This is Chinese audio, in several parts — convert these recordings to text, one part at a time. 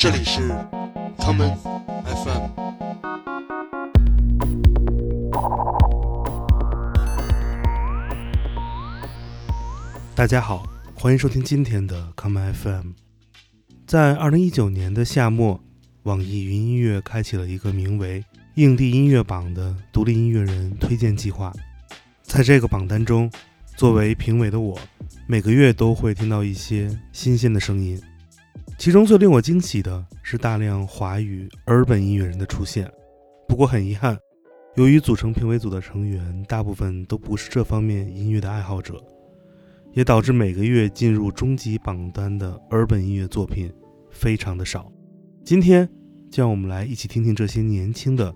这里是 Common FM。 大家好，欢迎收听今天的 Common FM。 在2019年的夏末，网易云音乐开启了一个名为硬地音乐榜的独立音乐人推荐计划。在这个榜单中，作为评委的我，每个月都会听到一些新鲜的声音。其中最令我惊喜的是大量华语 urban 音乐人的出现。不过很遗憾，由于组成评委组的成员大部分都不是这方面音乐的爱好者，也导致每个月进入终极榜单的 urban 音乐作品非常的少。今天就让我们来一起听听这些年轻的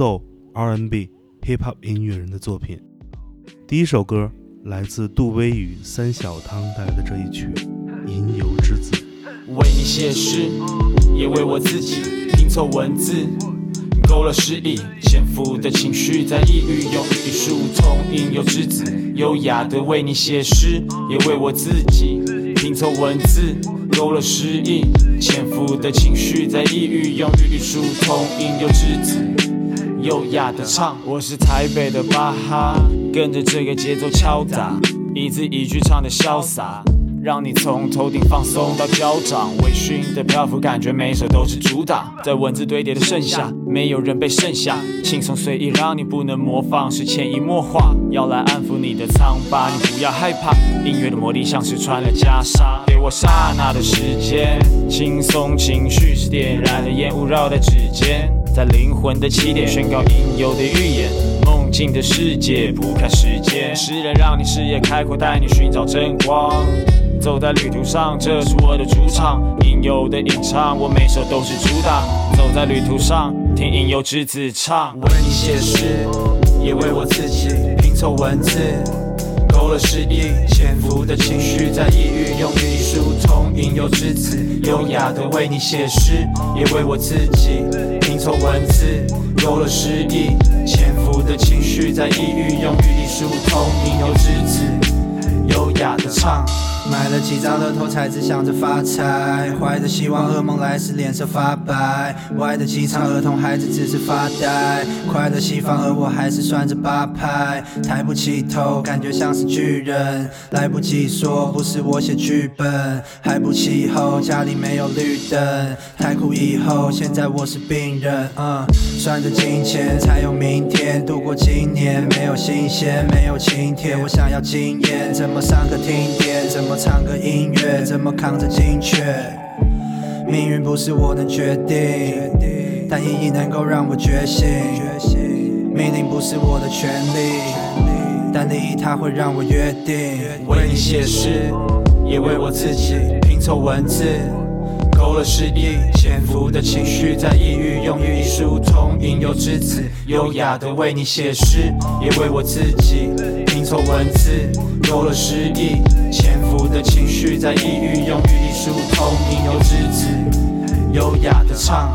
Soul、R&B、Hip-Hop 音乐人的作品。第一首歌来自杜威与三小汤带来的这一曲《吟游之子》。 为你写诗，也为我自己拼凑文字，勾勒诗意，潜伏的情绪在抑郁，用艺术通吟游之子，优雅的为你写诗，也为我自己拼凑文字，勾勒诗意，潜伏的情绪在抑郁，用艺术通吟游之子，优雅的唱。我是台北的巴哈，跟着这个节奏敲打，一字一句唱的潇洒，让你从头顶放松到脚掌，微醺的漂浮感觉每首都是主打，在文字堆叠的盛夏，没有人被剩下，轻松随意让你不能模仿，是潜移默化，要来安抚你的苍巴，你不要害怕，音乐的魔力像是穿了袈裟，给我刹那的时间，轻松情绪是点燃的烟雾绕在指尖，在灵魂的起点宣告应有的预言，梦境的世界不看时间，诗人让你视野开阔，带你寻找真光，走在旅途上，这是我的主场，应有的吟唱，我每首都是主打，走在旅途上，听吟游之子唱。为你写诗，也为我自己拼凑文字，勾勒诗意，潜伏的情绪在抑郁，用艺术通吟游之子，优雅的为你写诗，也为我自己拼凑文字，勾勒诗意，潜伏的情绪在抑郁，用艺术通吟游之子，优雅的唱。 买了几张乐透才只想着发财，怀着希望噩梦来时脸色发白，歪的几场儿童孩子只是发呆，快乐西方而我还是算着八拍，抬不起头感觉像是巨人，来不及说不是我写剧本，还不气候家里没有绿灯，太苦以后现在我是病人，算着金钱才有明天，度过今年没有新鲜没有晴天，我想要经验，怎么上个听点，怎么唱个音乐，怎么扛着精确，命运不是我能决定，但意义能够让我觉醒，命令不是我的权利，但利益它会让我约定。 为你写诗，也为我自己拼凑文字，勾勒诗意，潜伏的情绪在抑郁，用艺术通吟游之子，优雅的为你写诗，也为我自己拼凑文字，勾勒诗意，潜伏的情绪在抑郁，用艺术通吟游之子，优雅的唱。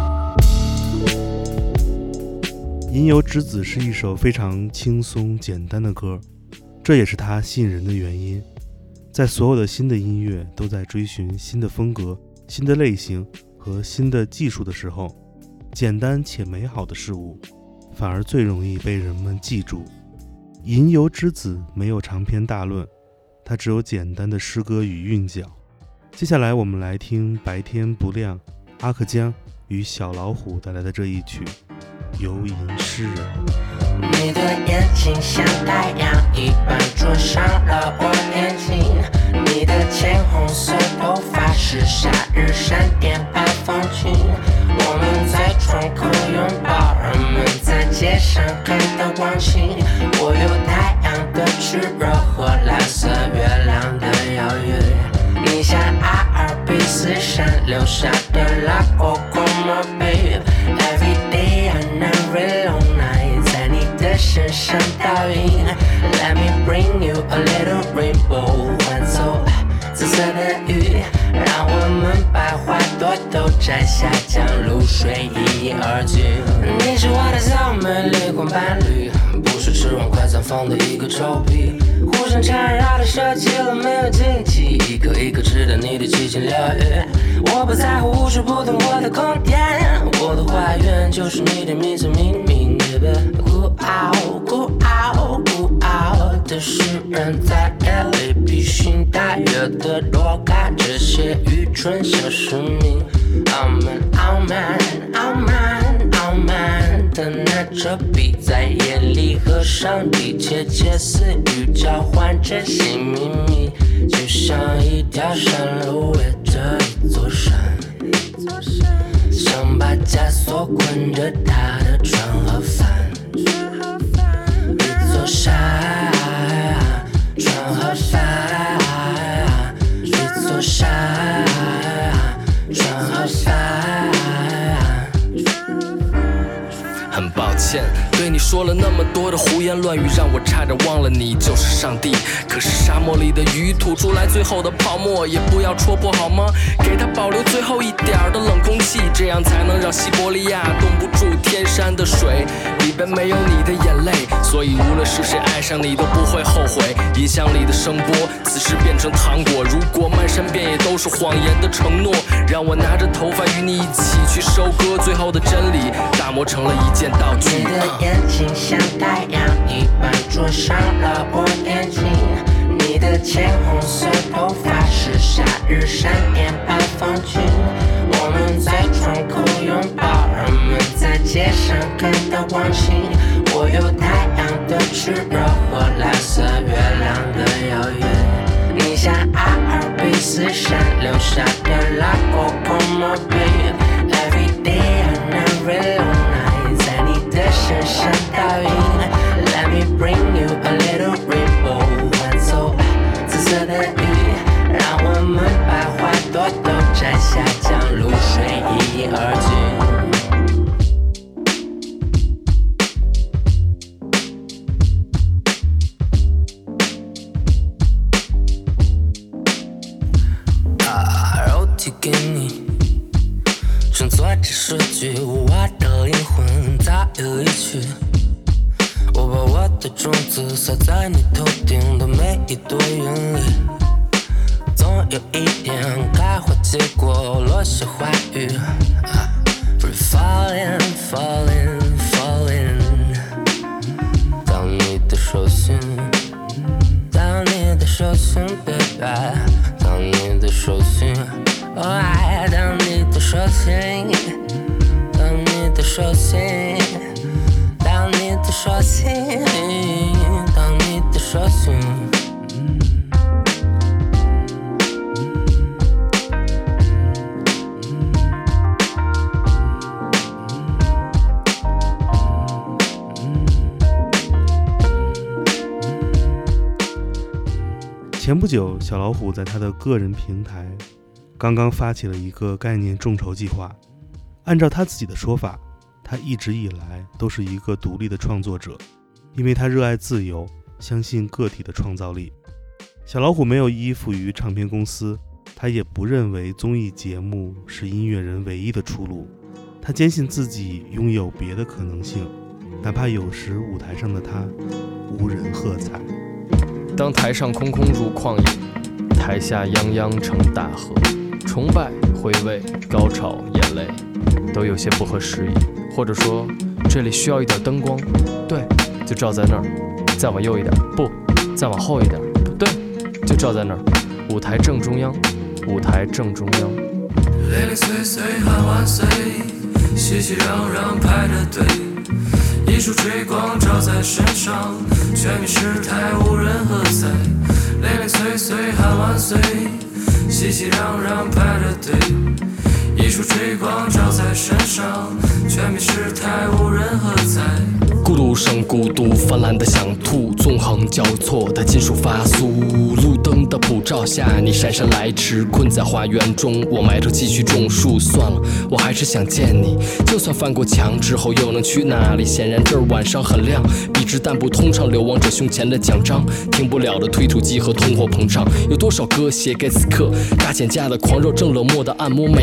吟游之子是一首非常轻松简单的歌，这也是它吸引人的原因。在所有的新的音乐都在追寻新的风格、新的类型和新的技术的时候，简单且美好的事物反而最容易被人们记住。吟游之子没有长篇大论，它只有简单的诗歌与韵脚。接下来我们来听白天不亮、阿克江与小老虎带来的这一曲《游吟诗人》。 你的眼睛像太阳一般灼伤了我眼睛，你的浅红色头发是夏日闪电般风景，我们在窗口拥抱，人们在街上看到光景，我有太阳的炽热和蓝色月亮的遥远，你像阿尔卑斯山留下的拉古古马 babe every day and every long night， 在你的身上倒映 Let me bring you a little rainbow， 换奏紫色的雨，让我们把花朵都摘下，将露水一饮而尽。你是我的小美丽光伴侣，不是吃完快餐放的一个臭屁，互相缠绕的设计了没有禁忌，一颗一颗吃的你的七情六欲，我不在乎无时不懂我的空间，我的花园就是你的名字命名。孤傲孤傲孤傲的诗人，在夜里披星戴月的躲开这些愚蠢小市民。傲慢傲慢傲慢傲慢的拿着笔，在夜里和上帝窃窃私语，交换这些秘密，就像一条山路围着一座山，想把枷锁捆着他的船和帆。一座山，船和帆，一座山，船和帆。很抱歉对你说了那么多的胡言乱语，让我差点忘了你就是上帝。可是沙漠里的鱼吐出来最后的泡沫也不要戳破好吗？给它保留最后一点的冷空气，这样才能让西伯利亚冻不住天山的水，里边没有你的眼泪。所以无论是谁爱上你都不会后悔。音响里的声波此时变成糖果，如果漫山遍野都是谎言的承诺，让我拿着头发与你一起去收割最后的真理，打磨成了一件道具。 你的眼睛像太阳一般灼伤了我眼睛，你的浅红色头发是夏日闪电般风景。我们在窗口拥抱，人们在街上看到光景。我有太阳的炽热和蓝色月亮的遥远，你像阿尔卑斯山留下的拉过como babe every day and every long night， 在你的身上倒映。Let me bring you a little rainbow， 换奏紫色的雨，让我们把花朵都摘下，将露水一饮而尽。 给你乘坐着数据，我的灵魂早有一曲。我把我的种子撒在你头顶的每一朵云里，总有一天开花结果，落下花雨。We're falling, falling, falling。当你的手心，当你的手心 ，baby， 当你的手心。哦，爱当你的手心，当你的手心，当你的手心，当你的手心。 前不久，小老虎在他的个人平台刚刚发起了一个概念众筹计划。按照他自己的说法，他一直以来都是一个独立的创作者，因为他热爱自由，相信个体的创造力。小老虎没有依附于唱片公司，他也不认为综艺节目是音乐人唯一的出路。他坚信自己拥有别的可能性，哪怕有时舞台上的他无人喝彩。 当台上空空如旷野，台下泱泱成大河，崇拜、回味、高潮、眼泪，都有些不合时宜。或者说，这里需要一点灯光，对，就照在那儿；再往右一点，不，再往后一点，不对，就照在那儿。舞台正中央，舞台正中央。 零零碎碎喊万岁，熙熙攘攘排着队。一束追光照在身上，全民失态无人喝彩。零零碎碎喊万岁，熙熙攘攘排着队。一束追光照在身上，全民失态无人喝彩。 孤独生孤独，泛滥的想吐，纵横交错的金属发酥。路灯的普照下，你姗姗来迟，困在花园中，我埋头继续种树。算了，我还是想见你，就算翻过墙之后又能去哪里？显然这儿晚上很亮，笔直但不通畅，流亡者胸前的奖章，停不了的推土机和通货膨胀。有多少歌写给此刻？大减价的狂热，正冷漠的按摩每个懦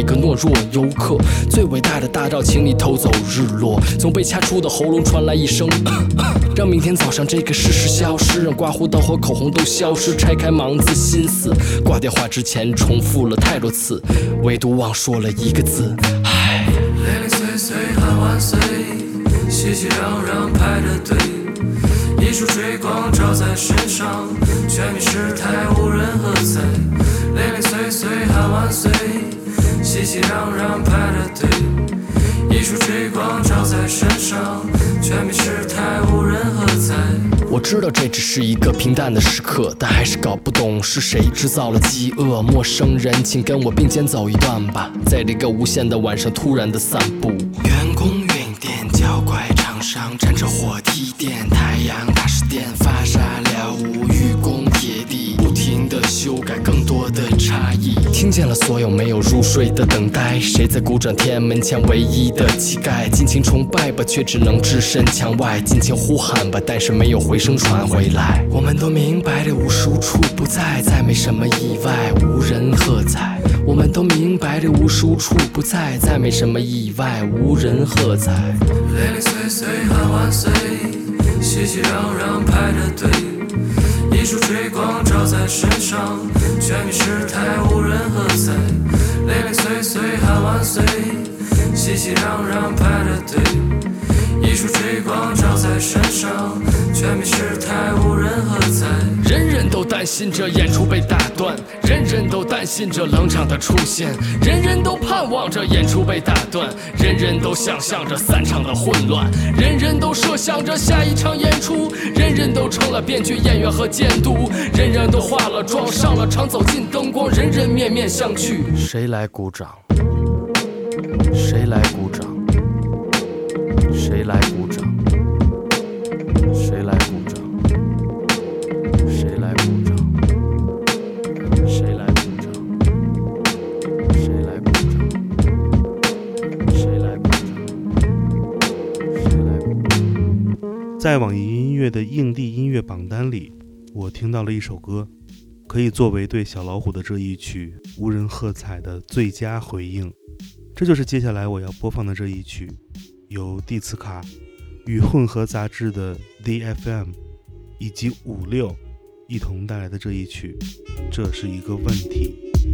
若游客。最伟大的大道，请你偷走日落。从被掐出的喉咙传来一声让明天早上这个事实消失，让刮胡刀和口红都消失。拆开盲字心思，挂电话之前重复了太多次，唯独忘说了一个字，唉。 零零碎碎喊万岁，熙熙攘攘排着队，一束追光照在身上，全民失态无人喝彩。零零碎碎喊万岁，熙熙攘攘排着队，一束追光照在身上，全民失态无人喝彩。 我知道这只是一个平淡的时刻，但还是搞不懂是谁制造了饥饿。陌生人，请跟我并肩走一段吧，在这个无限的晚上突然的散步。 员工运电，脚拐厂商站着火梯电，太阳大石电发沙了无愚公铁地，不停地修改更多的差异。 听见了所有没有入睡的等待，谁在鼓掌天安门前唯一的乞丐？尽情崇拜吧，却只能置身墙外；尽情呼喊吧，但是没有回声传回来。 我们都明白这无时无处不在，再没什么意外，无人喝彩。 我们都明白这无时无处不在，再没什么意外，无人喝彩。 零零碎碎喊万岁，熙熙攘攘排着队，一束追光照在身上，全民失态无人喝彩。零零碎碎喊万岁，熙熙攘攘排着队，一束追光照在身上，全民失态无人喝彩。 人人都担心着演出被打断，人人都担心着冷场的出现，人人都盼望着演出被打断，人人都想象着散场的混乱，人人都设想着下一场演出，人人都成了编剧、演员和监督，人人都化了妆上了场，走进灯光，人人面面相觑。谁来鼓掌？谁来鼓掌？谁来鼓掌？谁来鼓掌？谁来鼓掌？谁来鼓掌？谁来鼓掌？谁来鼓掌？谁来鼓掌？ 在网易音乐的硬地音乐榜单里，我听到了一首歌，可以作为对小老虎的这一曲无人喝彩的最佳回应。这就是接下来我要播放的这一曲，由蒂茨卡与混合杂志的 DFM 以及56一同带来的这一曲，这是一个问题。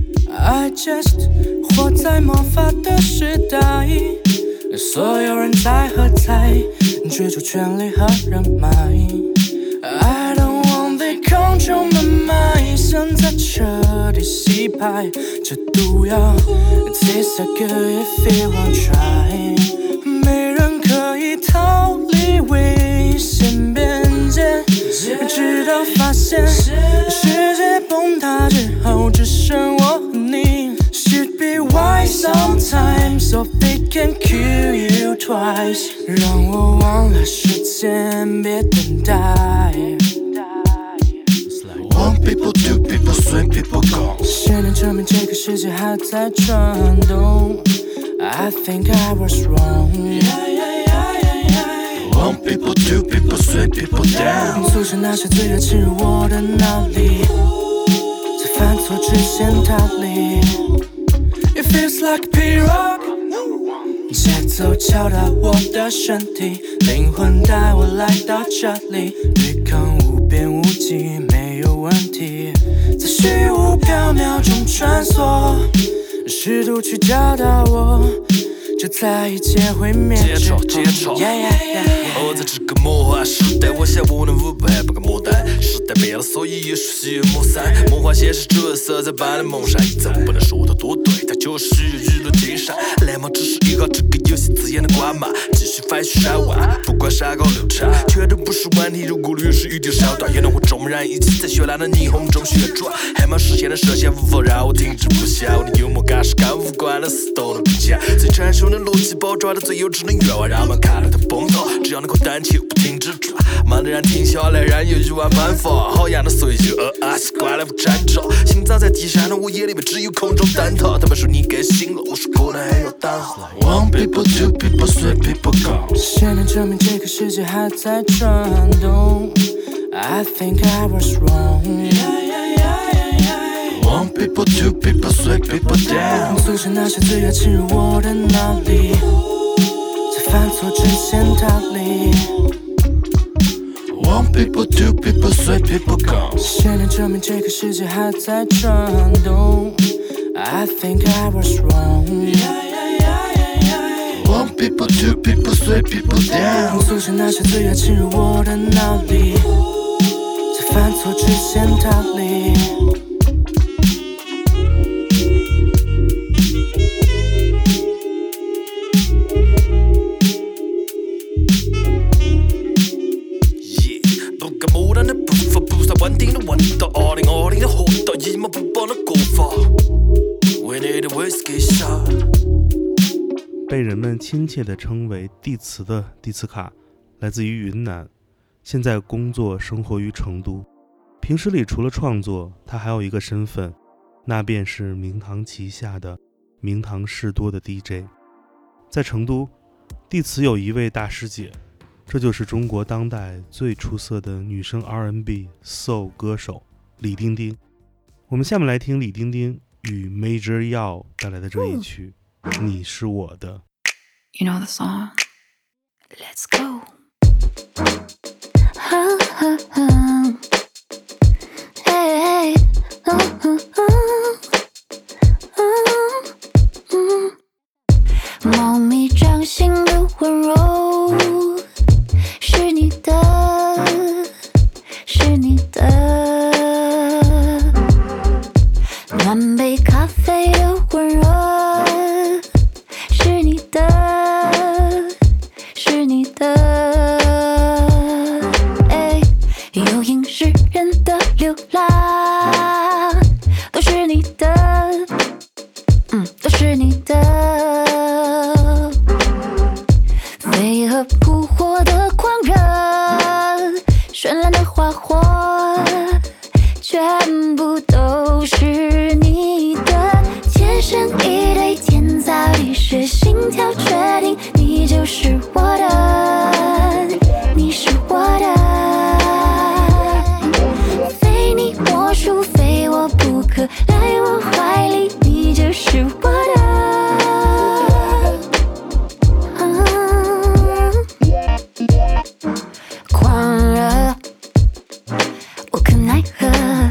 I just 活在魔法的时代，所有人在喝彩，追逐权力和人脉。 I don't want they control my mind， 现在彻底洗牌，这毒药 tastes so good if you won't try。 没人可以逃离危险边界，直到发现世界崩塌之后只剩我和你。 Should be wise sometimes so they can kill you twice， 让我忘了时间，别等待。 One people, two people, three people go。 谁能证明这个世界还在转动？ I think I was wrong。 One people, two people, three people down。 阻止那些罪恶侵入我的脑里，在犯错之前逃离。 It feels like P-Rock， 节奏敲打我的身体，灵魂带我来到这里，对抗无边无际没有问题，在虚无缥缈中穿梭，试图去找到我，就在一切毁灭之后。 活在这个魔幻时代，我想无能无败不个魔弹。时代变了，所以艺术需要磨散。魔幻现实主要色彩般的梦闪，怎么不能说它多对？它就是需要娱乐精神。来嘛，只是一号这个游戏自演的关嘛，继续翻许山湾，不管山高流长，全都不是问题。如果律师一定手段，也能和众人一起在绚烂的霓虹中旋转。还没实现的设限，无法让我停止不下。我的幽默感是跟无关的事都能比较，最成熟的逻辑包装的最幼稚的愿望，让我们看了它崩倒。只要能够单起不停止转，慢的人停下来，人有1万办法。好样的随就习惯了不挣扎，心脏在地上的我眼里面只有空中灯塔。他们说你该醒了，我说可能还要等。One people, two people, three people go。 谁能证明这个世界还在转动？ I think I was wrong。 One people, two people, three people down。 促使那些罪恶侵入我的脑里，在犯错之前逃离。 One people, two people, three people gone。 现在证明这个世界还在转动。I think I was wrong。 One people, two people, three people down。 促使那些罪恶侵入我的脑里，在犯错之前逃离。 不敢木然的步伐，不再稳定的温度。2020的活到一毛不拔的过法。We need a whiskey shot。 被人们亲切地称为地磁的蒂茨卡，来自于云南，现在工作生活于成都。平时里除了创作，他还有一个身份，那便是明堂旗下的明堂士多的 DJ。 在成都，地磁有一位大师姐，这就是中国当代最出色的女生 R&B Soul 歌手李丁丁。我们下面来听李丁丁与 Major Yao 带来的这一曲你是我的。 You know the song? Let's go. Hey,猫咪掌心的温柔是你的，是你的，暖杯咖啡的温热是你的，是你的，有影视人的流浪都是你的，都是你的，飞蛾扑火的狂热，绚烂的花火，全部都是你的，天生一对天造地设，心跳决定你就是我的，你是我的，非你莫属，非我不可，来我怀里，你就是我的。狂热无可奈何，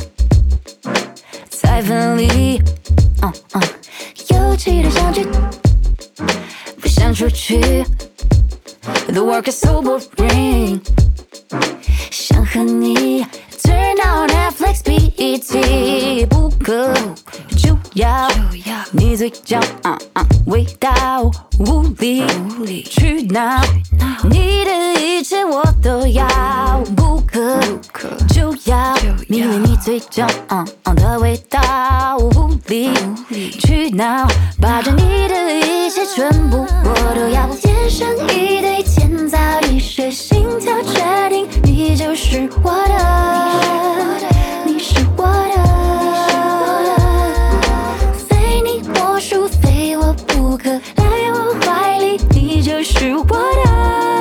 再分离，有期待相聚，不想出去。The work is so boring， 想和你 turn on Netflix BET， 不可就要你嘴角味道，无理取闹，你的一切我都要，不可就要迷恋你嘴角的味道，无理取闹，把着你的一切全部我都要，天生一对天造地设，心跳决定你就是我的，你是我的，非你莫属，非我不可，来我怀里，你就是我的。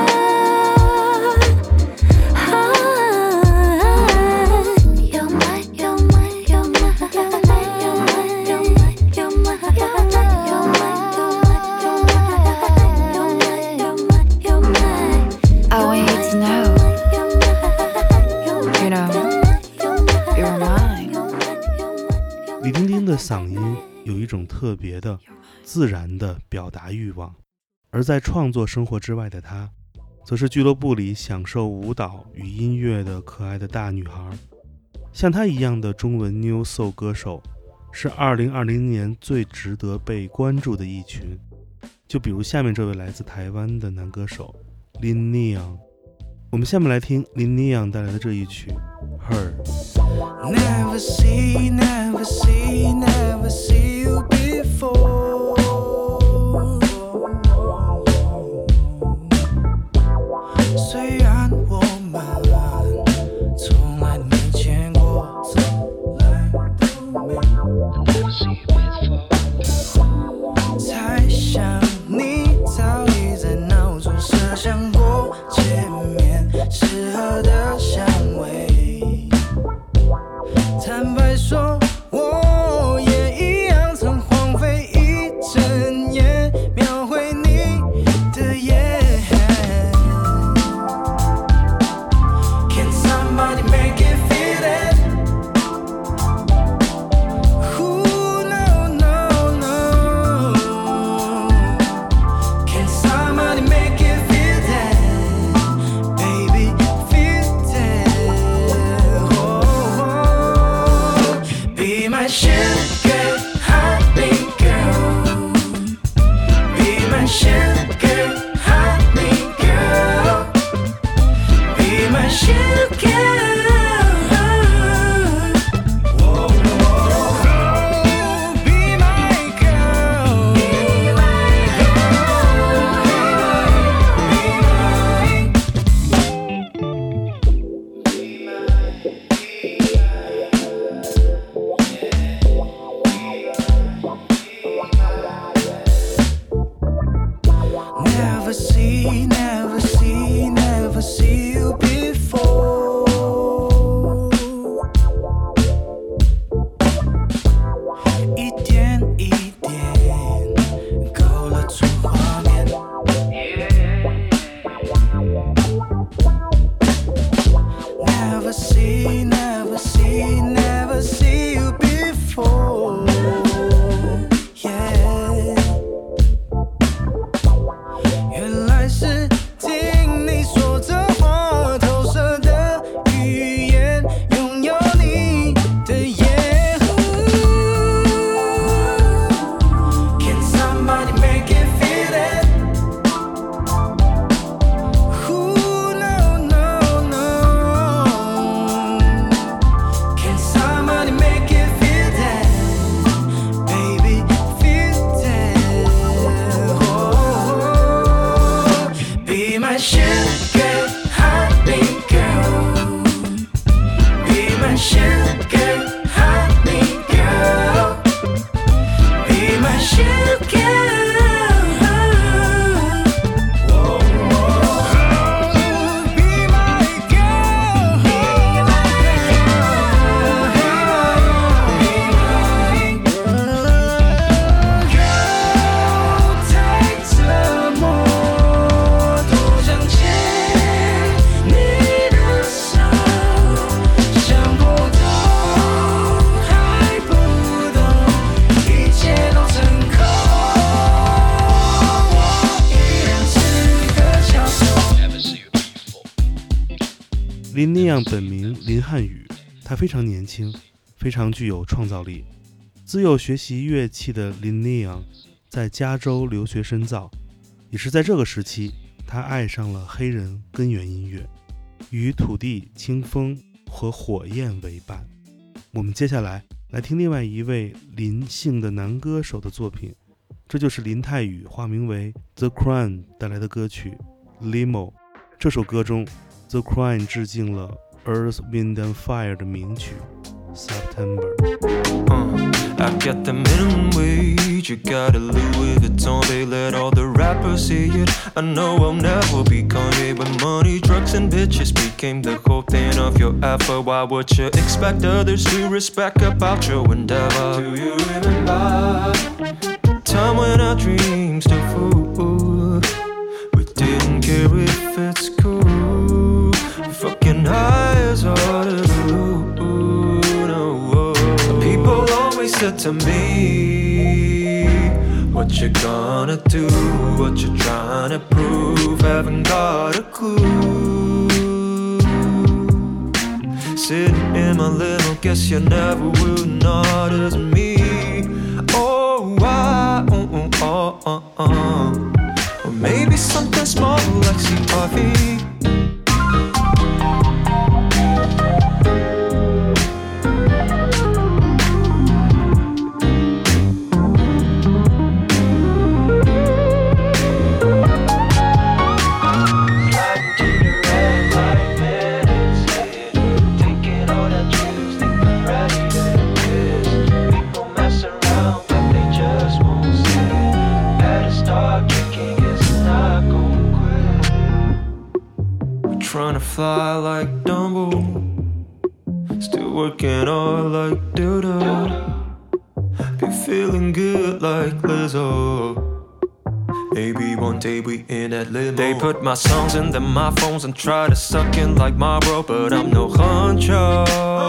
李丁丁的嗓音有一种特别的自然的表达欲望，而在创作生活之外的她，则是俱乐部里享受舞蹈与音乐的可爱的大女孩。像她一样的中文 New Soul 歌手，是2020年最值得被关注的一群。就比如下面这位来自台湾的男歌手林尼昂。我们下面来听林尼昂带来的这一曲 Her。Never see, never see, never see you before. 虽然我们从来没见过，从来都没 Never see you before. 猜想你早已在脑中设想过见面适合的香味。坦白说，我 sugar honey girl. Be my sugar honey girl. Be my sugar. Never see you before.一点一点勾勒出画面。Never see you before. Yeah. 原来是听你说着话，投射的语言，拥有你的眼。Can somebody make it feel that? No, no, no. Can somebody make it feel that? Baby, feel that. Oh, be my sugar honey girl. Be my sugar honey girl. Be my sugar. Whoa, whoa. Be my girl. Be my girl. Take some more. 多想牵你的手，想不懂，还不懂，一切都成空。我依然是个小丑。 林尼昂本名林汉宇，他非常年轻，非常具有创造力。自幼学习乐器的林尼昂在加州留学深造，也是在这个时期，他爱上了黑人根源音乐，与土地、清风和火焰为伴。我们接下来听另外一位林姓的男歌手的作品，这就是林泰宇化名为 The Crown 带来的歌曲 Limo。 这首歌中 The Crown 致敬了 Earth, Wind and Fire 的名曲 September。 I got the minimum wage, you got a Louis Vuitton, they let all the rappers see it. I know I'll never be Kanye, but money, drugs and bitches became the whole thing of your effort. Why would you expect others to respect about your endeavor? Do you remember time when our dreams still full? We didn't care if it's cool. Fucking high as hard as blue. No, people always said to me, what you gonna do? What you trying to prove? Haven't got a clue. Sitting in my limo, guess you never will, not as me. Oh, or maybe something small like CRV. Trying to fly like Dumbo, still working hard like Dildo. Be feeling good like Lizzo. Maybe one day we in that limo. They put my songs in them my phones and try to suck in like Marlboro, but I'm no honcho.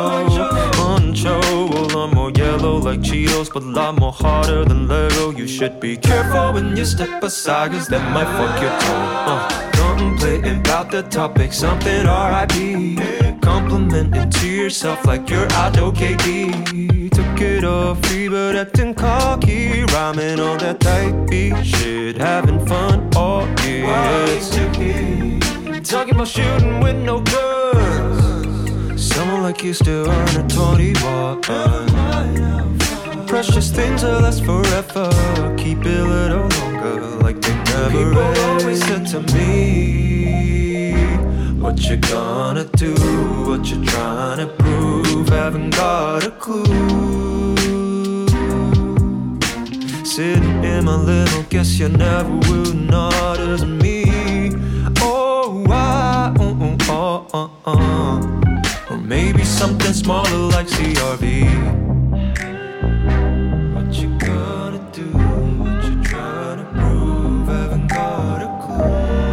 Well, I'm more yellow like Cheetos, but a lot more harder than Lego. You should be careful when you step aside, cause that might fuck your toe. Contemplating about the topic, something R.I.P. Complimenting to yourself like you're Ado KD. Took it all free but acting cocky. Rhyming on that type beat shit. Having fun all year. Talking about shooting with no guns. Someone like you still under 21. Precious things will last forever. Keep it a little longer like they never People end. Always said to me, what you gonna do, what you trying to prove, haven't got a clue. Sitting in my little, guess you never will, not as me. Oh, or maybe something smaller like CRV. What you gonna do, what you trying to prove, haven't got a clue.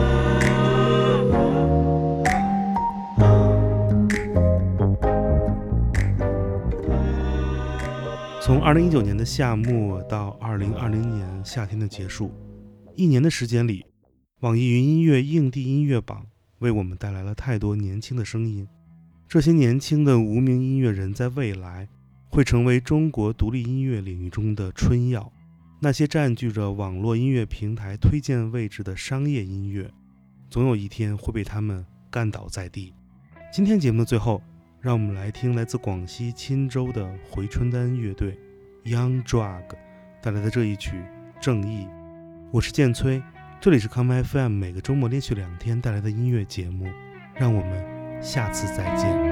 从2019年的夏末到2020年夏天的结束，1年的时间里，网易云音乐硬地音乐榜为我们带来了太多年轻的声音。这些年轻的无名音乐人在未来会成为中国独立音乐领域中的春药，那些占据着网络音乐平台推荐位置的商业音乐，总有一天会被他们干倒在地。今天节目的最后，让我们来听来自广西钦州的回春丹乐队 Young Drug 带来的这一曲《正义》。我是建崔，这里是 Come FM 每个周末连续2天带来的音乐节目，让我们下次再见。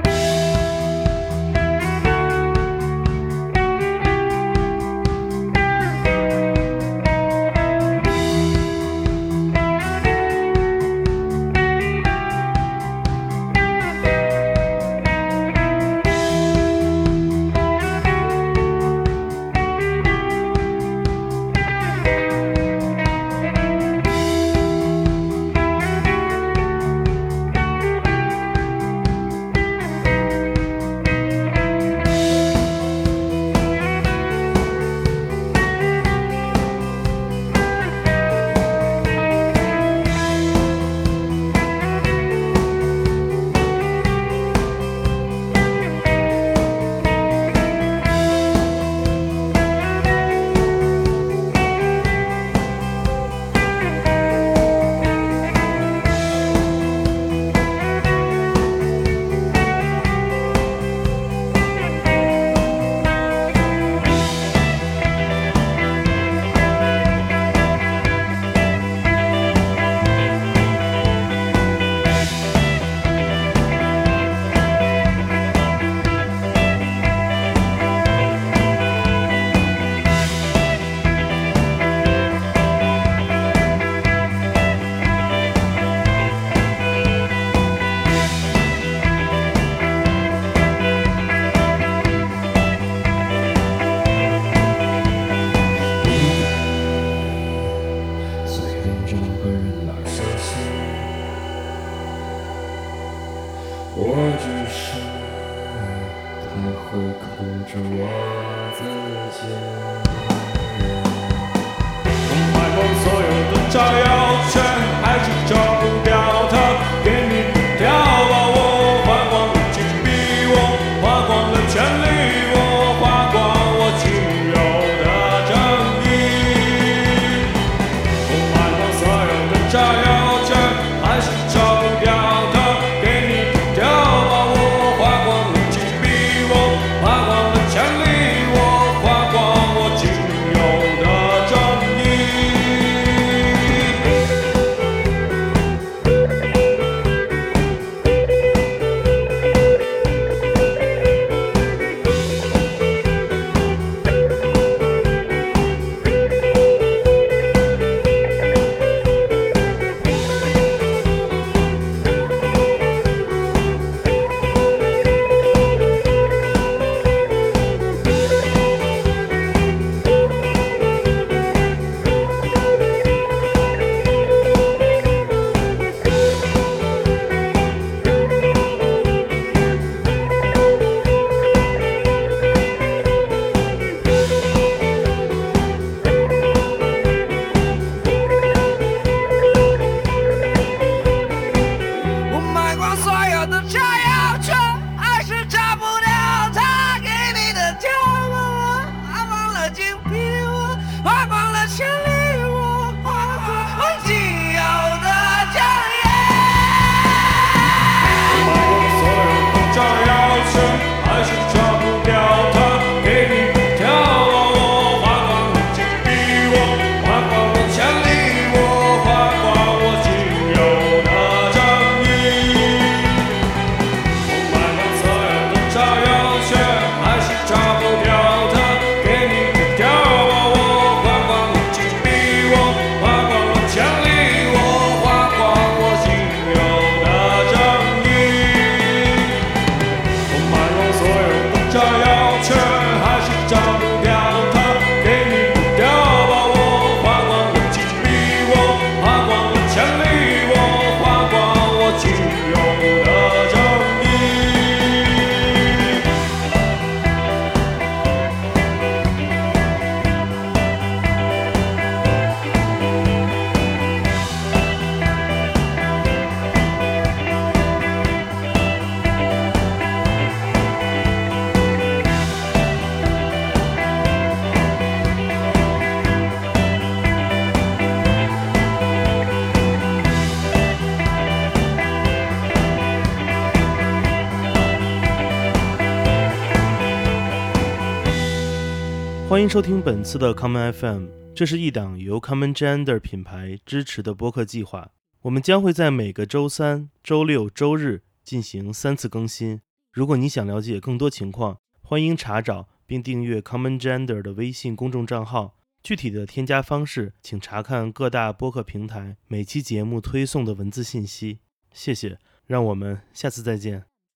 欢迎收听本次的 Common FM， 这是一档由 Common Gender 品牌支持的播客计划。我们将会在每个周三、周六、周日进行3次更新。如果你想了解更多情况，欢迎查找并订阅 Common Gender 的微信公众账号。具体的添加方式，请查看各大播客平台每期节目推送的文字信息。谢谢，让我们下次再见。